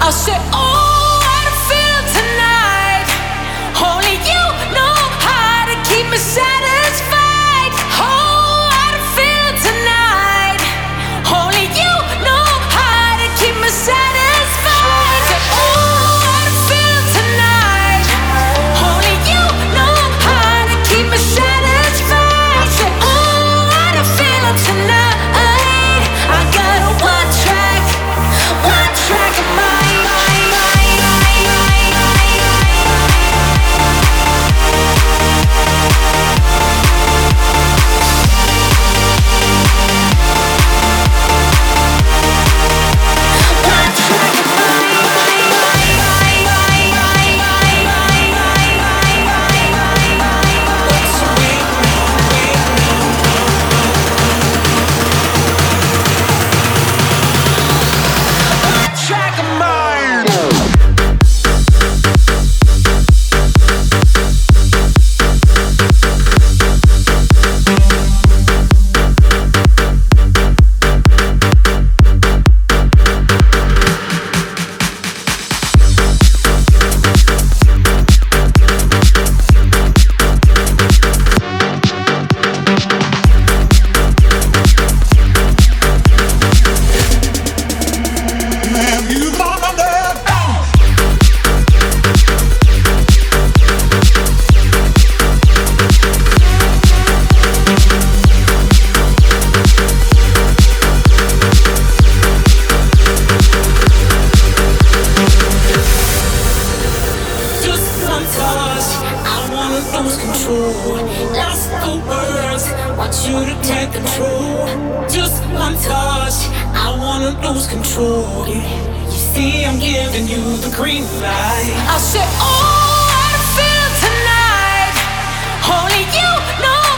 say, oh, how to feel tonight. Only you know how to keep me satisfied. Oh, how to feel tonight. Only you know how to keep me satisfied. Say, oh, how to feel tonight. Only you know how to keep me satisfied. Say, oh, how to feel tonight. I got a one track of mind. I said, oh, how to feel tonight. Only you know